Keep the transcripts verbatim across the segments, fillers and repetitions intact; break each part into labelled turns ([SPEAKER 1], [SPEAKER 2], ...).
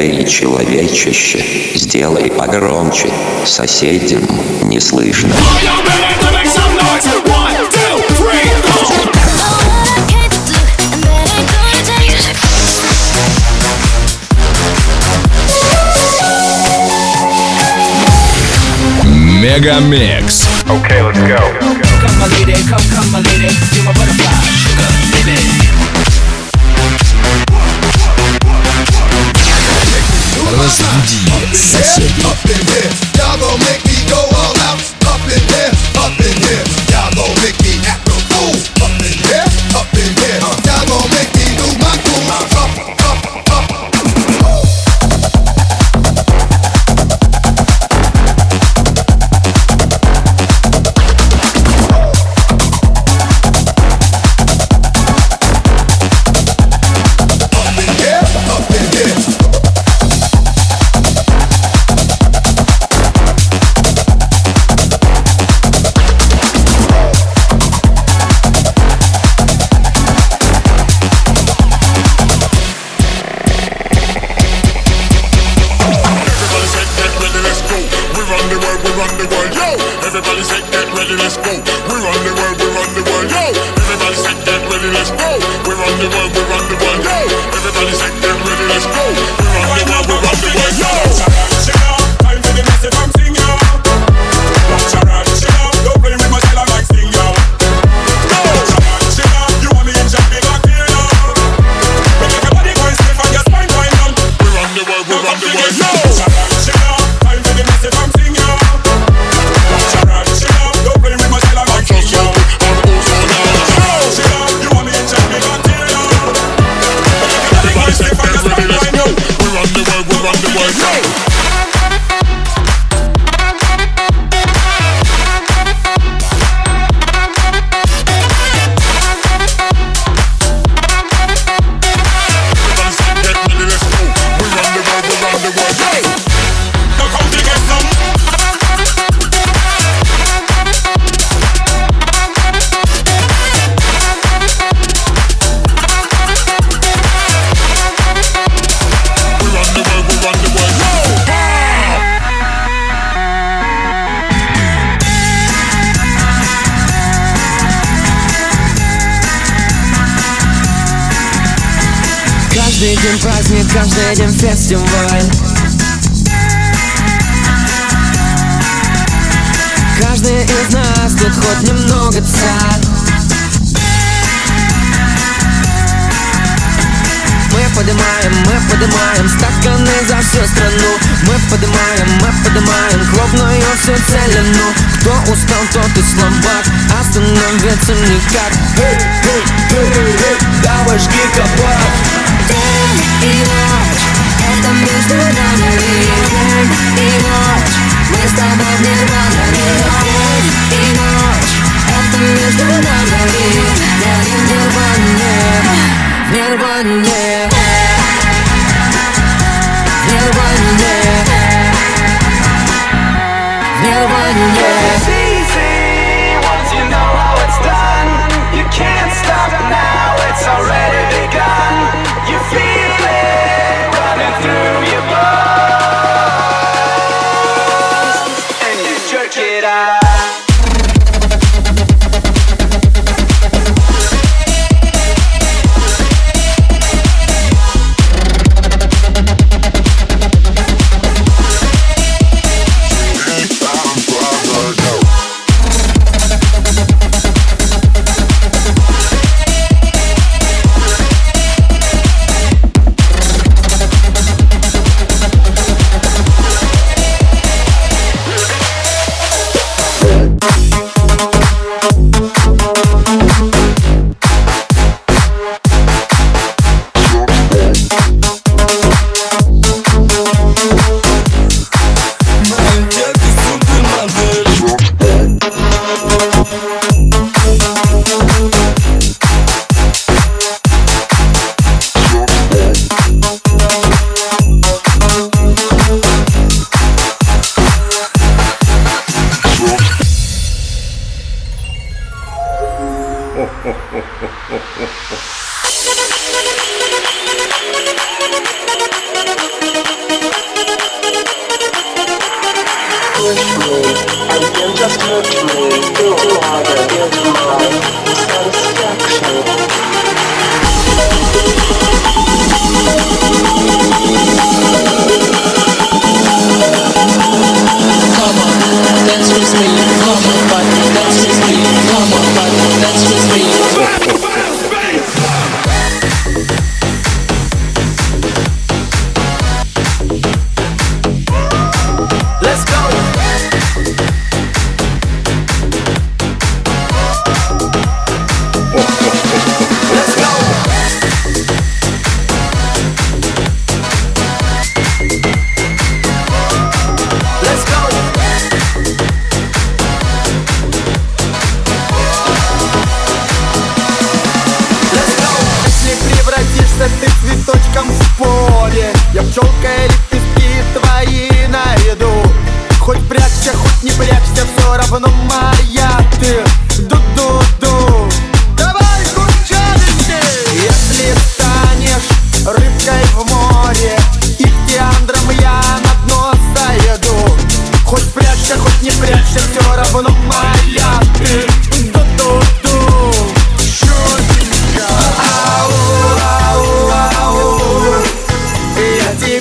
[SPEAKER 1] Эй, человечище, сделай погромче, соседям не слышно.
[SPEAKER 2] Мегамикс.
[SPEAKER 3] Okay, let's go.
[SPEAKER 4] Come my lady, come, come my lady, you're my butterfly, sugar, baby.
[SPEAKER 2] Разбуди соседей.
[SPEAKER 5] Up in here, y'all gon' make me go all out. Up in here, up in here, y'all gon' make me act a fool. Up in here, up in here, y'all gon' make me lose my cool. Up, up, up.
[SPEAKER 6] Каждый день праздник, каждый день фестиваль. Каждый из нас тут хоть немного царь. Мы поднимаем, мы поднимаем стаканы за всю страну. Мы поднимаем, мы поднимаем клубную всю целину. Кто устал, тот и слабак, остановиться никак. Эй, эй, эй, эй, давай жги кабак.
[SPEAKER 7] День и ночь, это между нами. День и ночь, мы с тобой в нирване. День и ночь, это между нами. Я не в нирване, в нирване, в нирване, в нирване.
[SPEAKER 8] It's easy once you know how it's done. You can't stop now, it's already begun.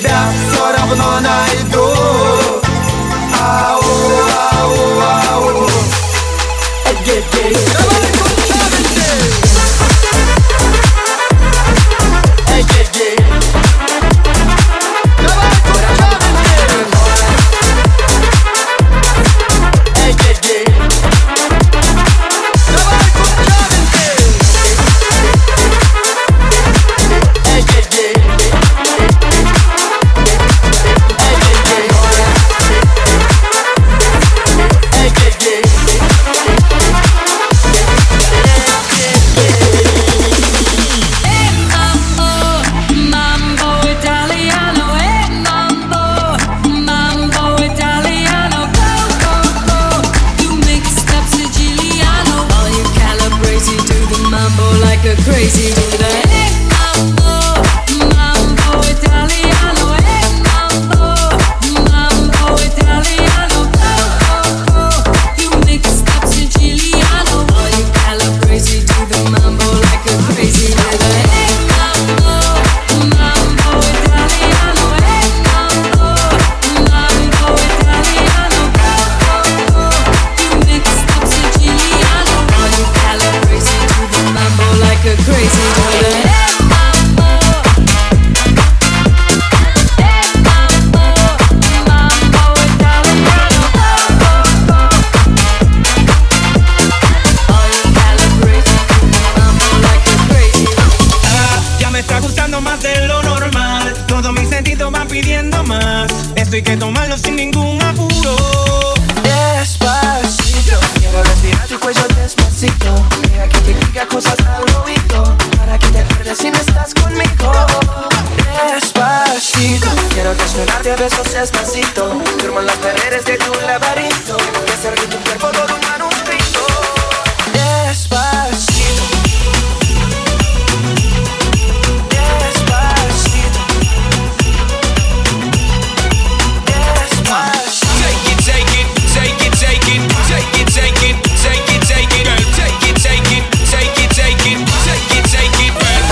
[SPEAKER 2] тебя все равно найду. Ау, ау, ау. Эй-ей-ей. Давай, кучавенький. Эй-ей-ей. Давай, кучавенький. Эй-ей-ей. Давай, кучавенький. Эй-ей-ей.
[SPEAKER 6] Crazy to the hey mambo, mambo italiano, hey mambo, mambo italiano, oh oh oh. You make it stop Siciliano. All you calabrese do the mambo like a crazy to the hey mambo, mambo italiano, hey mambo, mambo italiano, oh oh oh. You make it stop Siciliano. All you calabrese do the mambo like a crazy to the hey mambo, hey mambo, mambo italiano, oh oh oh. All you calabrese do the mambo like a crazy.
[SPEAKER 3] Ah, ya me está gustando más de lo normal. Todos mis sentidos van pidiendo más. Esto hay que tomarlo sin ningún apuro.
[SPEAKER 2] Despacito, quiero respirar tu cuello despacito. Deja que te diga cosas al oído, para que te acuerdes si no estás conmigo. Despacito, quiero desnudarte a besos despacito. Durmo en las paredes de tu laberinto, y hacer de tu cuerpo todo un manuscrito. Despacito, despacito, despacito.
[SPEAKER 3] Take it, take it, take it, take it, take it, take it, take it, take it, girl. Take it, take it, take it, take it, take it, take it, girl.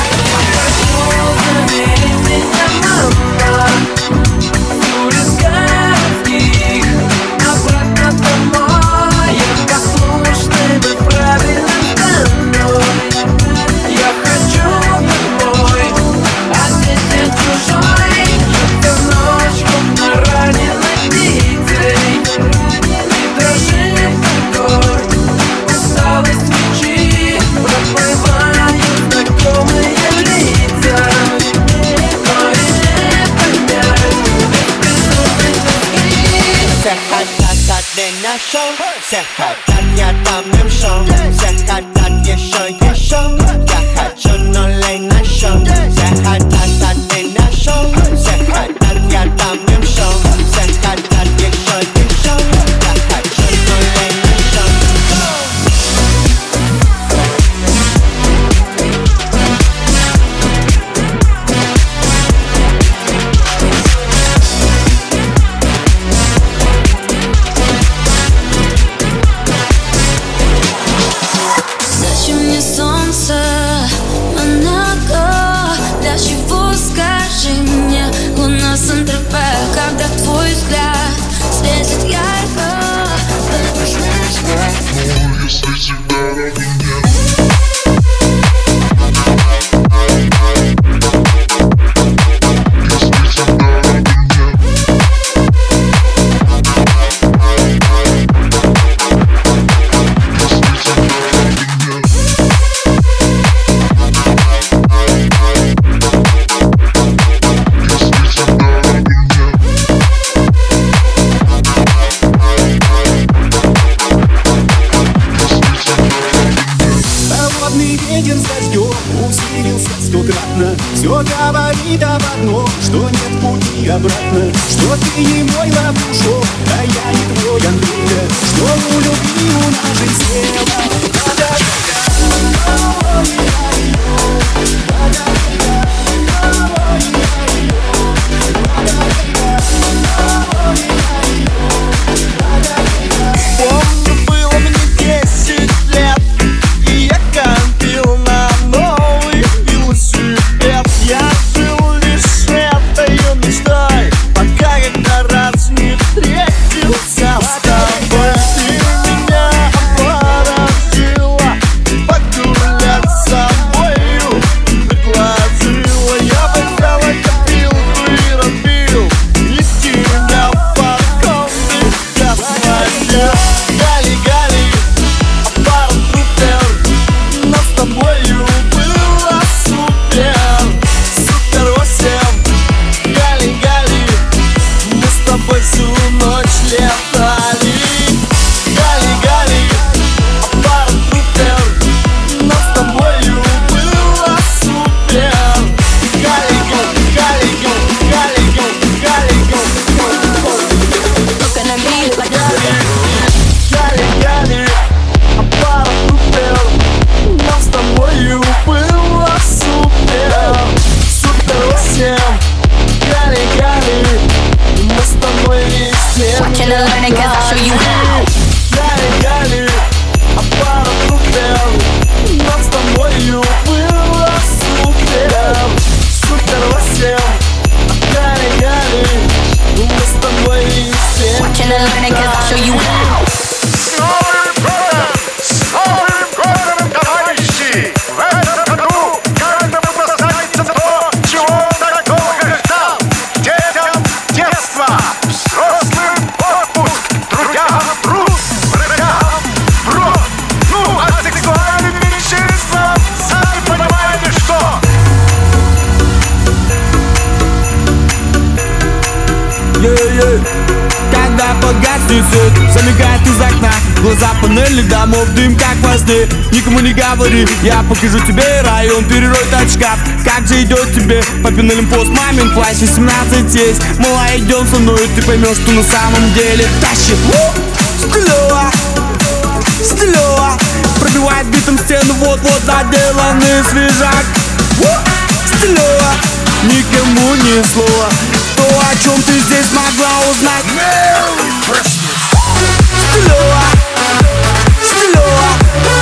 [SPEAKER 2] Обратно домой, я послушный, быть правильным данной. Я хочу домой, а здесь нет чужой. Эта ночь, как на раненой птицей, и дрожит такой усталость свечи. Проплывают знакомые лица, но и не понять безумной тоски.
[SPEAKER 8] Все хотят один наш шоу, все хотят я там им шоу, все хотят еще, еще. Я хочу нулей на шоу, все хотят один наш шоу, все хотят я там им шоу, все хотят еще, еще. Я хочу нулей на шоу.
[SPEAKER 7] Зачем мне солнце, Монако? Для чего, скажи мне, луна Сан-Тропе? Когда твой взгляд светит ярко, радужный взгляд.
[SPEAKER 5] Если тебя равен нет.
[SPEAKER 9] ветер с дождем усилился стократно. Все говорит об одном, что нет пути обратно. Что ты не мой лапушок, а я не твой Андрей. Что у любви у нашей села.
[SPEAKER 2] Помню, было мне десять лет, и я копил на новый велосипед. Я жил лишь этой мечтой.
[SPEAKER 6] yeah-yeah. Когда погаснет свет, замигает из окна глаза панели домов, дым как во сне. Никому не говори, я покажу тебе район, перерой тот шкаф. Как же идет тебе папин олимпост, мамин плащ, семнадцать есть. Мала, идем со мной, ты поймешь, что на самом деле тащит. Стилево, стилево, пробивает битом стену, вот-вот доделанный свежак. Стилево, никому ни слова, то, о чем ты здесь могла узнать. Стилево, стилево,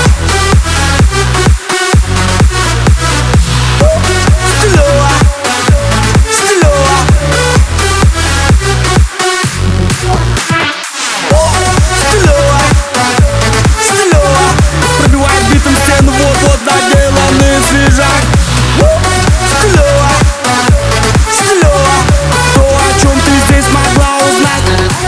[SPEAKER 6] стилево, стилево, стилево, стилево, пробивает битом стену, вот-вот доделанный свежак. Стилево, стилево, то, о чем ты здесь могла узнать.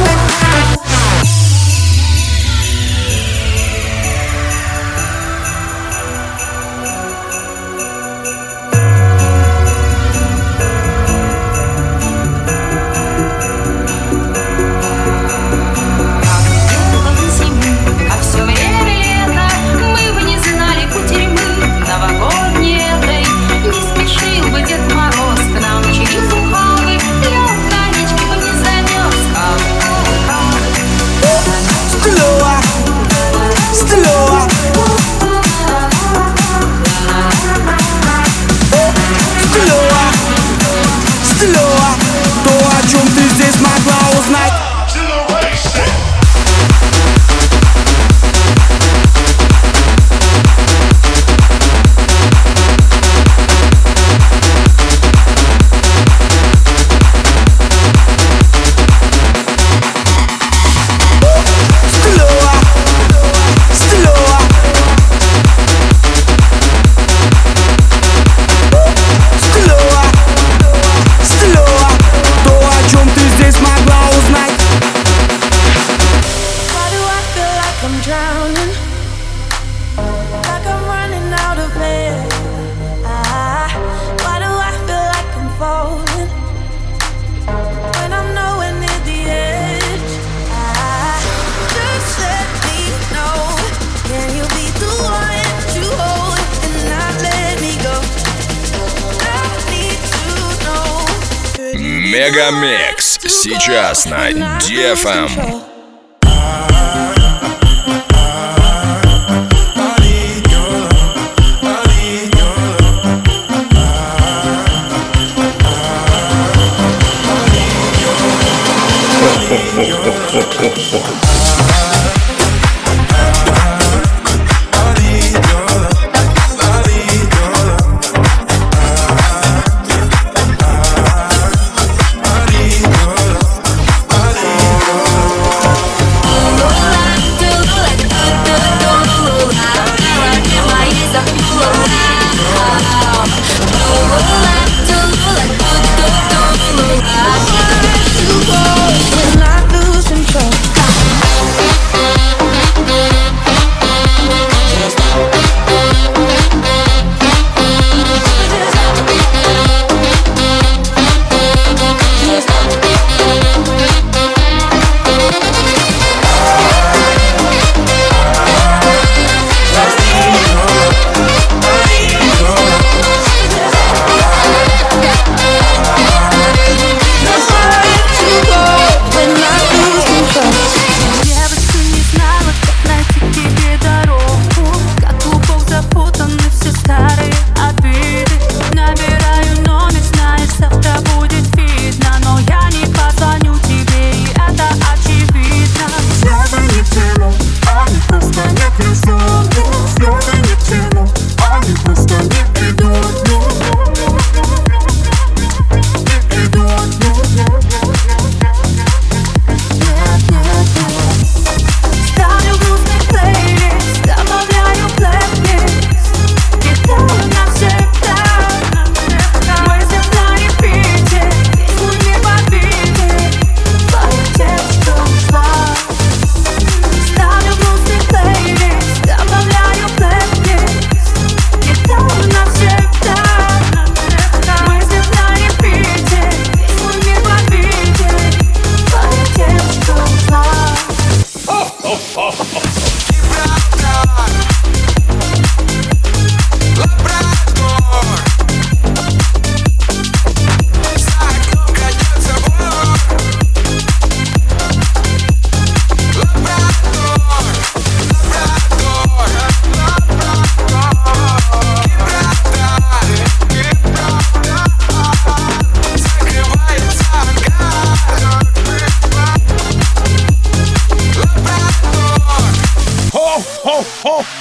[SPEAKER 10] Мегамикс сейчас на ди эф эм.
[SPEAKER 7] Not lose control.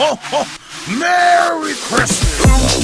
[SPEAKER 11] ho, ho. Merry Christmas.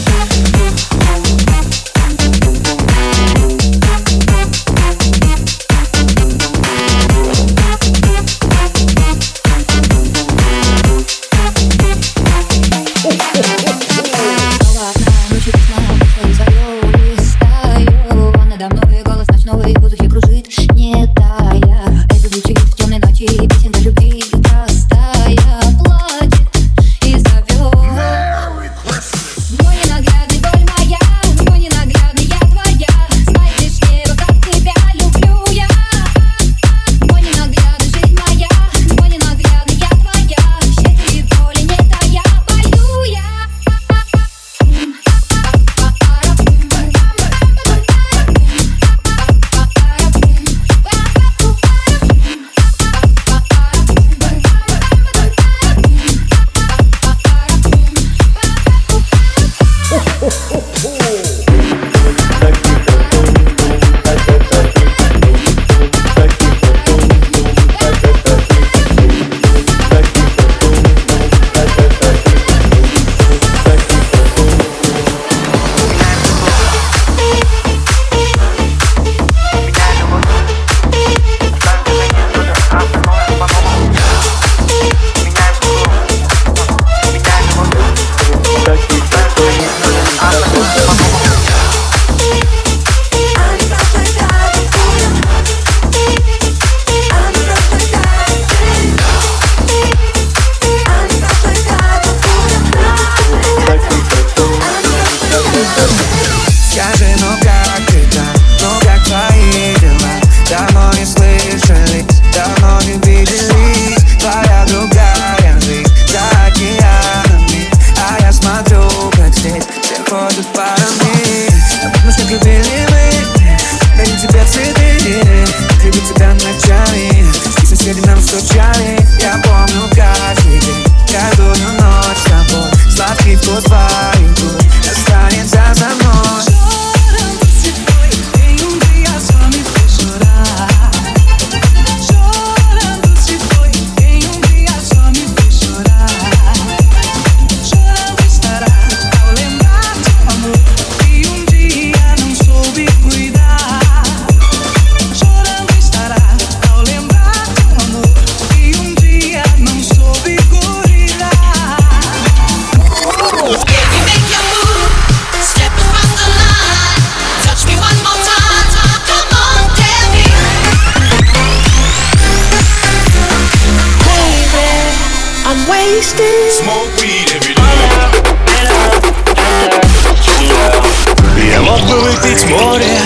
[SPEAKER 12] Я мог бы выпить море,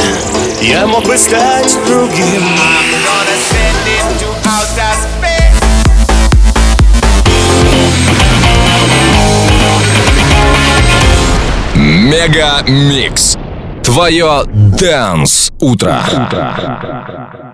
[SPEAKER 12] я мог бы стать другим.
[SPEAKER 10] Мега Микс. Твое Dance утро.